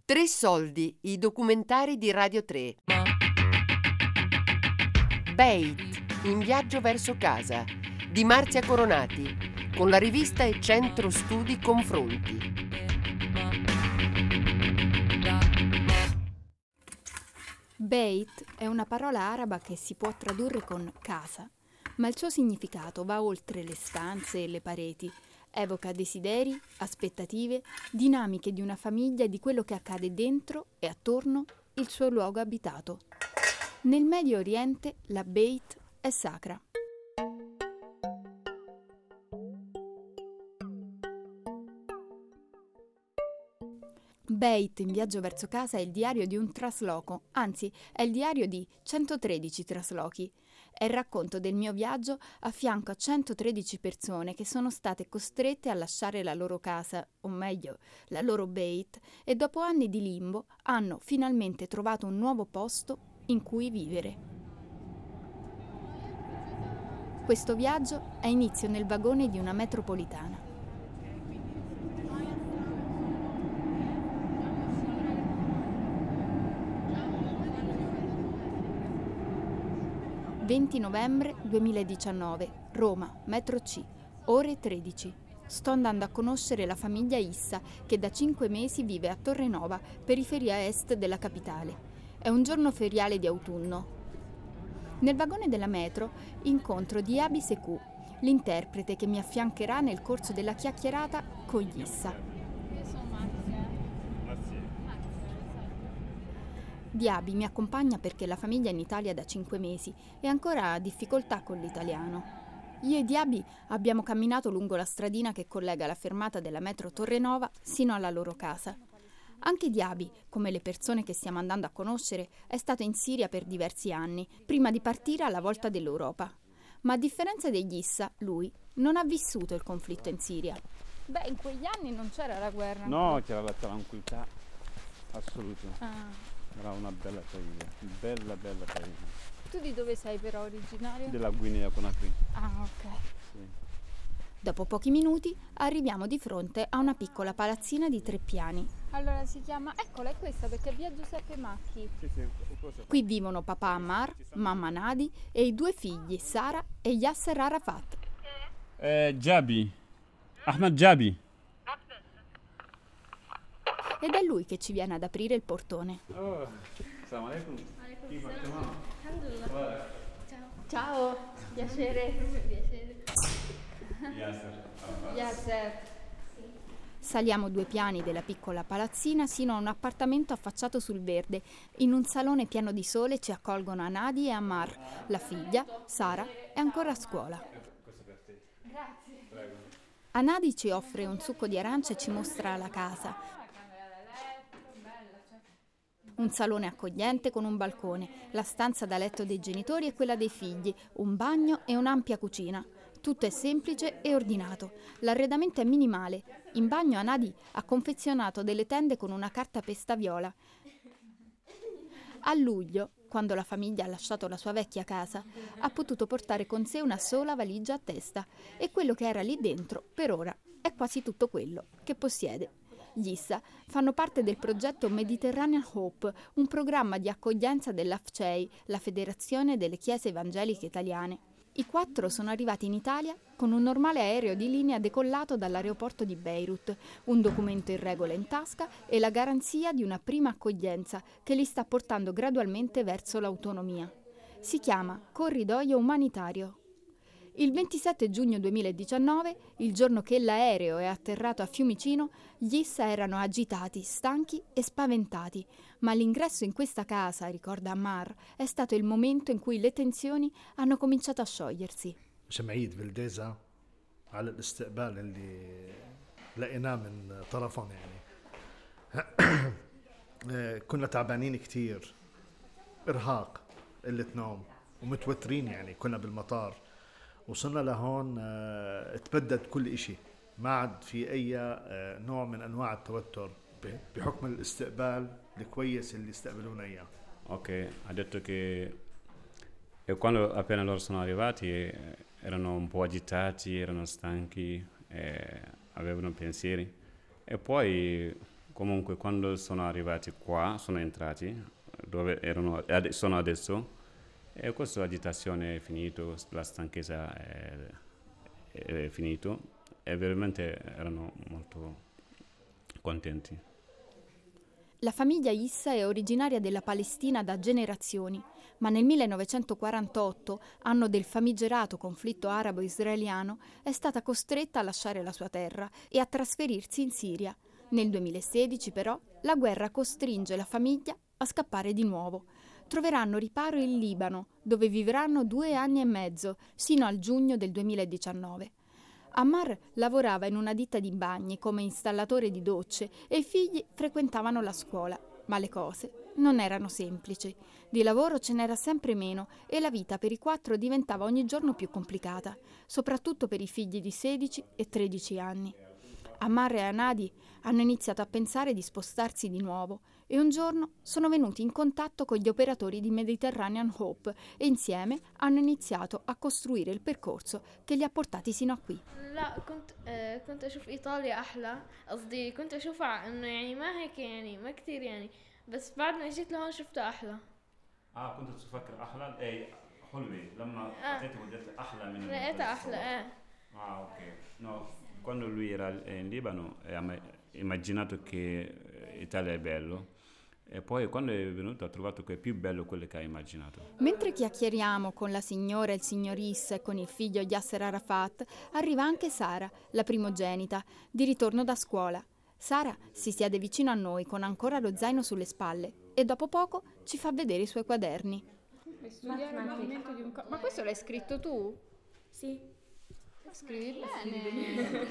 Tre soldi, i documentari di Radio 3. Beit, in viaggio verso casa, di Marzia Coronati, con la rivista e Centro Studi Confronti. Beit è una parola araba che si può tradurre con casa, ma il suo significato va oltre le stanze e le pareti. Evoca desideri, aspettative, dinamiche di una famiglia e di quello che accade dentro e attorno il suo luogo abitato. Nel Medio Oriente la Beit è sacra. Beit in viaggio verso casa è il diario di un trasloco, anzi è il diario di 113 traslochi. È il racconto del mio viaggio a fianco a 113 persone che sono state costrette a lasciare la loro casa, o meglio, la loro Beit, e dopo anni di limbo hanno finalmente trovato un nuovo posto in cui vivere. Questo viaggio ha inizio nel vagone di una metropolitana. «20 novembre 2019, Roma, metro C, ore 13. Sto andando a conoscere la famiglia Issa, che da 5 mesi vive a Torrenova, periferia est della capitale. È un giorno feriale di autunno. Nel vagone della metro incontro Diaby Sekou, l'interprete che mi affiancherà nel corso della chiacchierata con gli Issa. Diaby mi accompagna perché la famiglia è in Italia da 5 mesi e ancora ha difficoltà con l'italiano. Io e Diaby abbiamo camminato lungo la stradina che collega la fermata della metro Torrenova sino alla loro casa. Anche Diaby, come le persone che stiamo andando a conoscere, è stato in Siria per diversi anni, prima di partire alla volta dell'Europa. Ma a differenza degli Issa, lui non ha vissuto il conflitto in Siria. Beh, in quegli anni non c'era la guerra. No, c'era la tranquillità assoluta. Era una bella famiglia, bella famiglia. Tu di dove sei però originario? Della Guinea Conakry. Ah, ok. Sì. Dopo pochi minuti arriviamo di fronte a una piccola palazzina di 3 piani. Allora si chiama, eccola, è questa perché è via Giuseppe Macchi. Sì, Qui vivono papà Ammar, mamma Nadi e i 2 figli, Sara e Yasser Arafat. Jabi, Ahmed Jabi. Ed è lui che ci viene ad aprire il portone. Assalamu alaikum. Ciao, piacere. Yasser. Saliamo 2 piani della piccola palazzina sino a un appartamento affacciato sul verde. In un salone pieno di sole ci accolgono Anadi e Ammar. La figlia, Sara, è ancora a scuola. Grazie. Prego. Anadi ci offre un succo di arancia e ci mostra la casa. Un salone accogliente con un balcone, la stanza da letto dei genitori e quella dei figli, un bagno e un'ampia cucina. Tutto è semplice e ordinato. L'arredamento è minimale. In bagno Anadi ha confezionato delle tende con una carta pesta viola. A luglio, quando la famiglia ha lasciato la sua vecchia casa, ha potuto portare con sé una sola valigia a testa e quello che era lì dentro, per ora, è quasi tutto quello che possiede. Gli Issa fanno parte del progetto Mediterranean Hope, un programma di accoglienza dell'AFCEI, la Federazione delle Chiese Evangeliche Italiane. I 4 sono arrivati in Italia con un normale aereo di linea decollato dall'aeroporto di Beirut, un documento in regola in tasca e la garanzia di una prima accoglienza che li sta portando gradualmente verso l'autonomia. Si chiama Corridoio Umanitario. Il 27 giugno 2019, il giorno che l'aereo è atterrato a Fiumicino, gli Issa erano agitati, stanchi e spaventati, ma l'ingresso in questa casa, ricorda Ammar, è stato il momento in cui le tensioni hanno cominciato a sciogliersi. جمعية فالديزا على الاستقبال اللي لقيناه من طرفهم يعني كنا تعبانين كتير إرهاق قلة نوم ومتوترين يعني كنا بالمطار وصلنا لهون تبدد كل إشي ما عاد في أي نوع من أنواع التوتر بحكم الاستقبال الكويس اللي استقبلونا إياه. Ok, ha detto che quando appena loro sono arrivati erano un po' agitati, erano stanchi, avevano pensieri e poi Comunque quando sono arrivati qua, sono entrati dove sono adesso, e questa agitazione è finita, la stanchezza è finita e veramente erano molto contenti. La famiglia Issa è originaria della Palestina da generazioni, ma nel 1948, anno del famigerato conflitto arabo-israeliano, è stata costretta a lasciare la sua terra e a trasferirsi in Siria. Nel 2016, però, la guerra costringe la famiglia a scappare di nuovo. Troveranno riparo in Libano, dove vivranno 2 anni e mezzo, sino al giugno del 2019. Ammar lavorava in una ditta di bagni come installatore di docce e i figli frequentavano la scuola, ma le cose non erano semplici. Di lavoro ce n'era sempre meno e la vita per i 4 diventava ogni giorno più complicata, soprattutto per i figli di 16 e 13 anni. Ammar e Anadi hanno iniziato a pensare di spostarsi di nuovo e un giorno sono venuti in contatto con gli operatori di Mediterranean Hope e insieme hanno iniziato a costruire il percorso che li ha portati sino a qui. لا كنت اشوف ايطاليا احلى قصدي كنت اشوفها انه يعني ما هيك يعني ما كتير يعني بس بعد ما جيت لهون شفتها احلى كنت تفكر احلى اي حلوه لما اتيت وجدت احلى من لقيتها احلى ok no quando lui era in Libano ha immaginato che Italia è bello. E poi quando è venuto ha trovato che è più bello quello che ha immaginato. Mentre chiacchieriamo con la signora e il signor Issa e con il figlio Yasser Arafat, arriva anche Sara, la primogenita, di ritorno da scuola. Sara si siede vicino a noi con ancora lo zaino sulle spalle e dopo poco ci fa vedere i suoi quaderni. Studiare il movimento di un corpo. Ma questo l'hai scritto tu? Sì. Scrivi bene.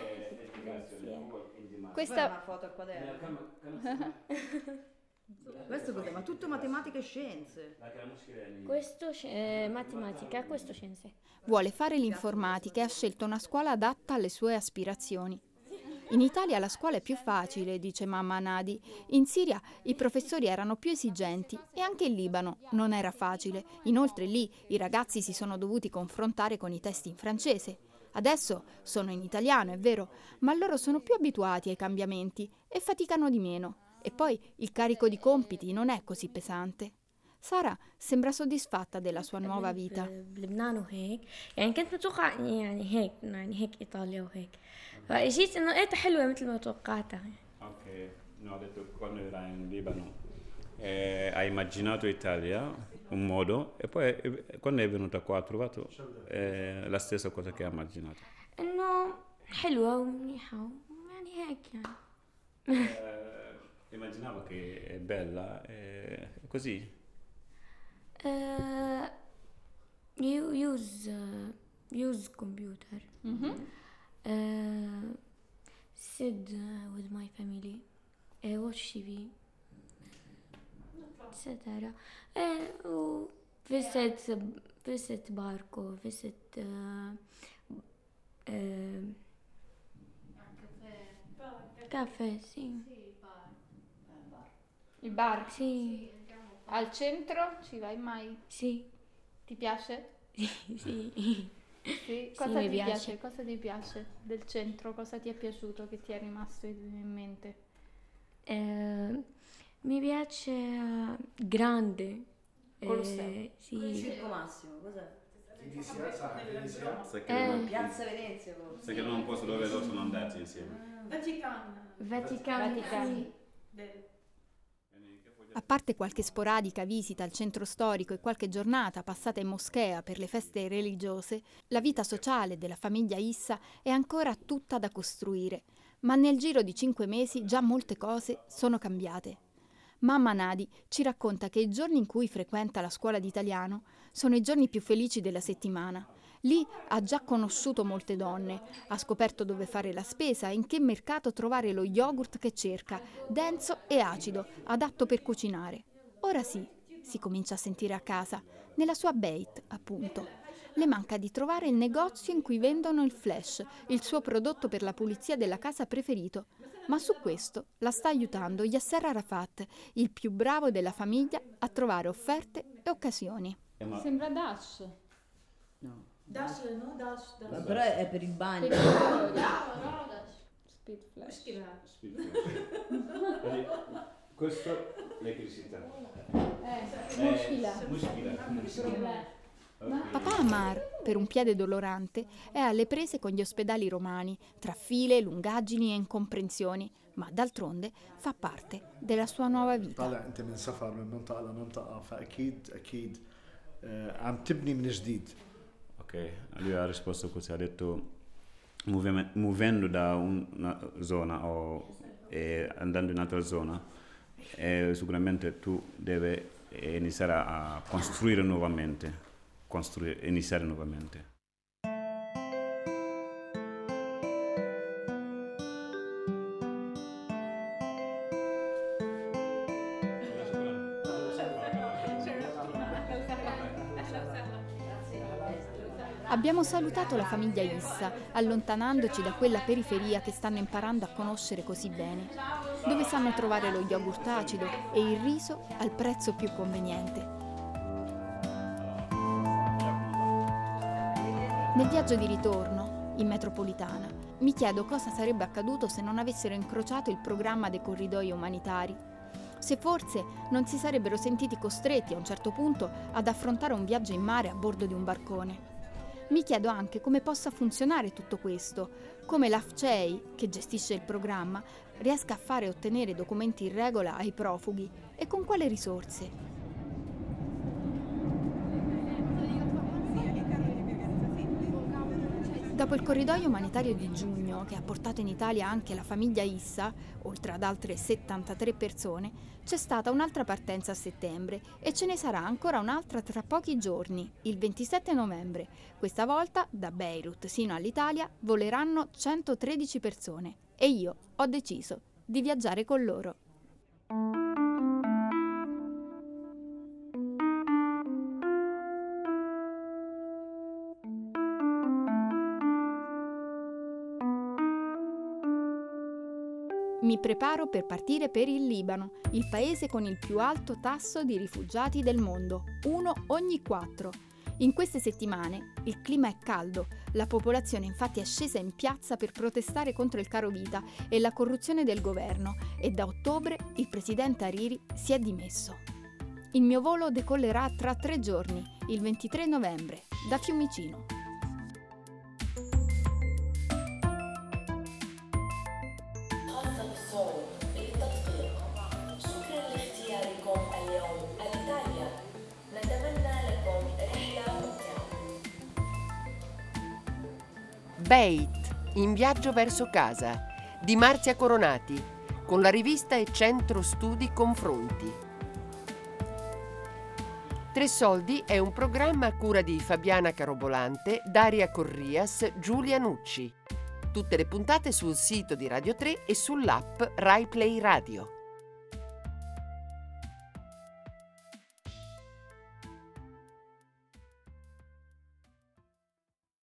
Questa è una foto al quaderno. Questo cos'è? Ma tutto matematica e scienze. Questo matematica, questo scienze. Vuole fare l'informatica e ha scelto una scuola adatta alle sue aspirazioni. In Italia la scuola è più facile, dice mamma Nadi. In Siria i professori erano più esigenti e anche in Libano non era facile. Inoltre lì i ragazzi si sono dovuti confrontare con i testi in francese. Adesso sono in italiano, è vero, ma loro sono più abituati ai cambiamenti e faticano di meno. E poi il carico di compiti non è così pesante. Sara sembra soddisfatta della sua nuova vita. بلبنان وهيك يعني كنت متوقع يعني هيك ايطاليا وهيك فاجيت انه لقيتها حلوه مثل ما توقعتها. Ok, no, ho detto quando era in Libano ha immaginato Italia un modo e poi quando è venuta qua ha trovato la stessa cosa che ha immaginato. انه حلوه ومنيحه يعني هيك يعني. Immaginavo che è bella, così. Use computer. Sit with my family. Watch TV. Etc. Visit barco. Visit caffè, sì. il bar. Sì. Al centro ci vai mai? Sì. Ti piace? Sì. Sì. Cosa mi ti piace. Cosa ti piace del centro? Cosa ti è piaciuto che ti è rimasto in mente? Mi piace grande. Colosseo. Sì. Circo Massimo, cos'è? Piazza Venezia. Sai che non posso dove loro sono andati insieme. Vaticano. Sì. A parte qualche sporadica visita al centro storico e qualche giornata passata in moschea per le feste religiose, la vita sociale della famiglia Issa è ancora tutta da costruire, ma nel giro di 5 mesi già molte cose sono cambiate. Mamma Nadi ci racconta che i giorni in cui frequenta la scuola di italiano sono i giorni più felici della settimana. Lì ha già conosciuto molte donne, ha scoperto dove fare la spesa e in che mercato trovare lo yogurt che cerca, denso e acido, adatto per cucinare. Ora sì, si comincia a sentire a casa, nella sua Beit, appunto. Le manca di trovare il negozio in cui vendono il flash, il suo prodotto per la pulizia della casa preferito. Ma su questo la sta aiutando Yasser Arafat, il più bravo della famiglia, a trovare offerte e occasioni. Sembra Dash. No. Dash, no? Dash. Però è per il bagno. Speed flash. Questo è l'elettricità. Papà Amar, per un piede dolorante, è alle prese con gli ospedali romani, tra file, lungaggini e incomprensioni, ma d'altronde fa parte della sua nuova vita. طالع انت من سفر من منطقه لمنطقه فاكيد عم تبني من جديد. Ok, lui ha risposto così, ha detto muovendo da una zona e andando in un'altra zona, sicuramente tu devi iniziare a costruire nuovamente, iniziare nuovamente. Abbiamo salutato la famiglia Issa, allontanandoci da quella periferia che stanno imparando a conoscere così bene, dove sanno trovare lo yogurt acido e il riso al prezzo più conveniente. Nel viaggio di ritorno, in metropolitana, mi chiedo cosa sarebbe accaduto se non avessero incrociato il programma dei corridoi umanitari. Se forse non si sarebbero sentiti costretti a un certo punto ad affrontare un viaggio in mare a bordo di un barcone. Mi chiedo anche come possa funzionare tutto questo, come l'AFCEI, che gestisce il programma, riesca a fare e ottenere documenti in regola ai profughi e con quale risorse. Dopo il corridoio umanitario di giugno, che ha portato in Italia anche la famiglia Issa, oltre ad altre 73 persone, c'è stata un'altra partenza a settembre e ce ne sarà ancora un'altra tra pochi giorni, il 27 novembre. Questa volta, da Beirut sino all'Italia, voleranno 113 persone e io ho deciso di viaggiare con loro. Mi preparo per partire per il Libano, il paese con il più alto tasso di rifugiati del mondo, 1 ogni 4. In queste settimane il clima è caldo, la popolazione infatti è scesa in piazza per protestare contro il caro vita e la corruzione del governo e da ottobre il presidente Hariri si è dimesso. Il mio volo decollerà tra 3 giorni, il 23 novembre, da Fiumicino. Beit, in viaggio verso casa, di Marzia Coronati, con la rivista e centro studi Confronti. Tre Soldi è un programma a cura di Fabiana Carobolante, Daria Corrias, Giulia Nucci. Tutte le puntate sul sito di Radio 3 e sull'app Rai Play Radio.